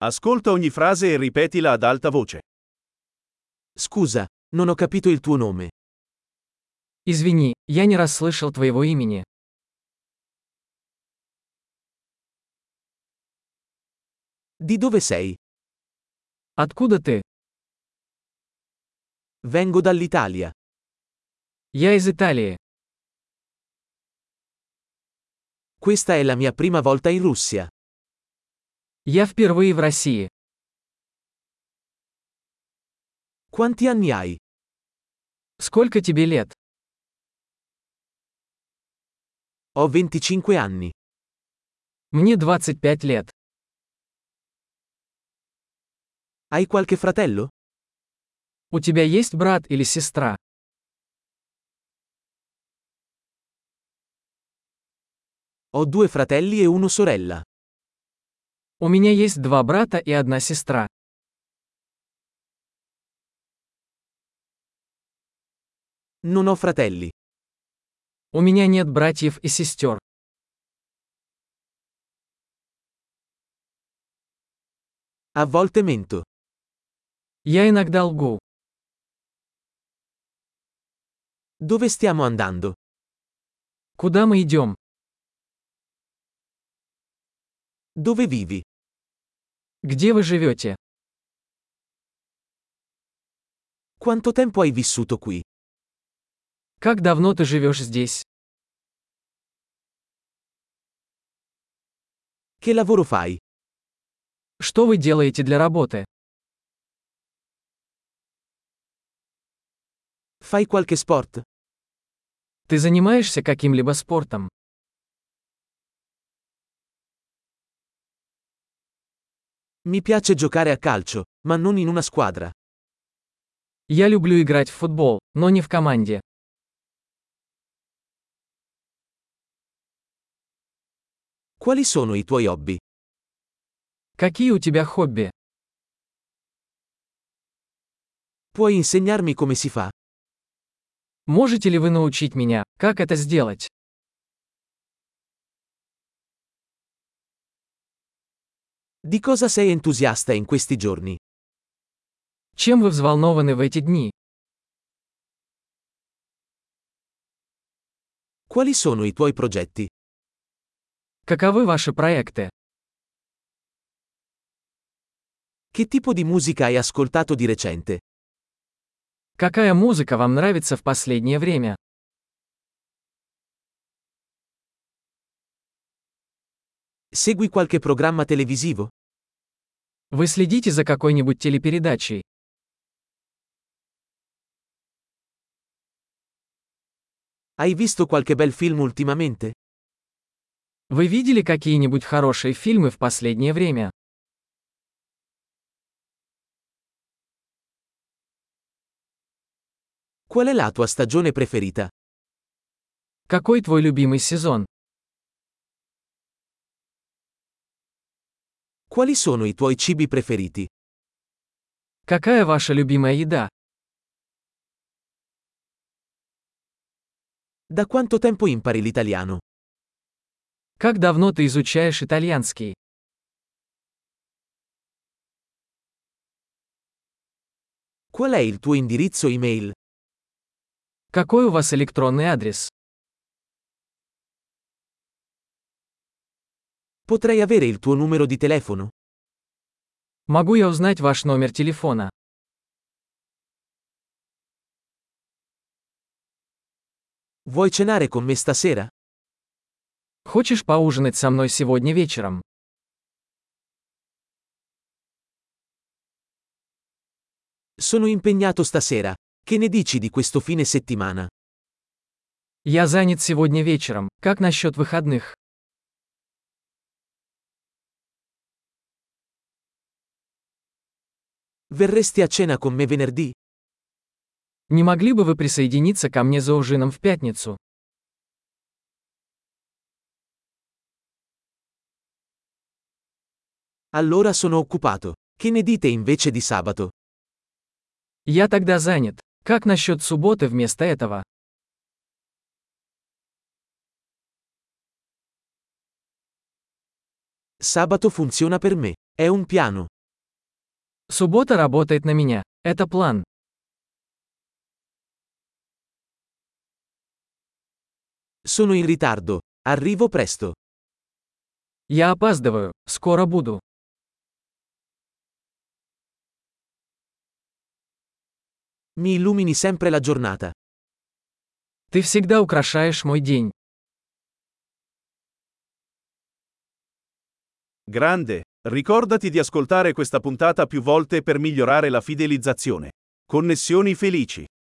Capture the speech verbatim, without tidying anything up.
Ascolta ogni frase e ripetila ad alta voce. Scusa, non ho capito il tuo nome. Извини, я не расслышал твоего имени. Di dove sei? Откуда ты? Vengo dall'Italia. Я из Италии. Questa è la mia prima volta in Russia. Я впервые в России. Quanti anni hai? Сколько тебе лет? Ho venticinque anni. Мне двадцать пять лет. Hai qualche fratello? У тебя есть брат или сестра? Ho due fratelli e una sorella. У меня есть два брата и одна сестра. Non ho fratelli. У меня нет братьев и сестер. A volte mento. Я иногда лгу. Dove stiamo andando? Куда мы идем? Dove vivi? Где вы живете? Quanto tempo hai vissuto qui? Как давно ты живешь здесь? Che lavoro fai? Что вы делаете для работы? Fai qualche sport? Ты занимаешься каким-либо спортом? Mi piace giocare a calcio, ma non in una squadra. Я люблю играть в футбол, но не в команде. Quali sono i tuoi hobby? Какие у тебя хобби? Puoi insegnarmi come si fa? Можете ли вы научить меня, как это сделать? Di cosa sei entusiasta in questi giorni? Чем вы взволнованы в эти дни? Quali sono i tuoi progetti? Каковы ваши проекты? Che tipo di musica hai ascoltato di recente? Какая музыка вам нравится в последнее время? Segui qualche programma televisivo? Вы следите за какой-нибудь телепередачей? Hai visto qualche bel film ultimamente? Вы видели какие-нибудь хорошие фильмы в последнее время? Qual è la tua stagione preferita? Какой твой любимый сезон? Quali sono i tuoi cibi preferiti? Какая ваша любимая еда? Da quanto tempo impari l'italiano? Как давно ты изучаешь итальянский? Qual è il tuo indirizzo email? Какой у вас электронный адрес? Potrei avere il tuo numero di telefono? Могу я узнать ваш номер телефона? Vuoi cenare con me stasera? Хочешь поужинать со мной сегодня вечером? Sono impegnato stasera. Che ne dici di questo fine settimana? Я занят сегодня вечером. Как насчет выходных? Verresti a cena con me venerdì? Не могли бы вы присоединиться ко мне за ужином в пятницу? Allora sono occupato. Che ne dite invece di sabato? Я тогда занят. Как насчет субботы вместо этого? Sabato funziona per me. È un piano. Суббота работает на меня. Это план. Sono in ritardo. Arrivo presto. Я опаздываю. Скоро буду. Mi illumini sempre la giornata. Ты всегда украшаешь мой день. Grande, ricordati di ascoltare questa puntata più volte per migliorare la fidelizzazione. Connessioni felici.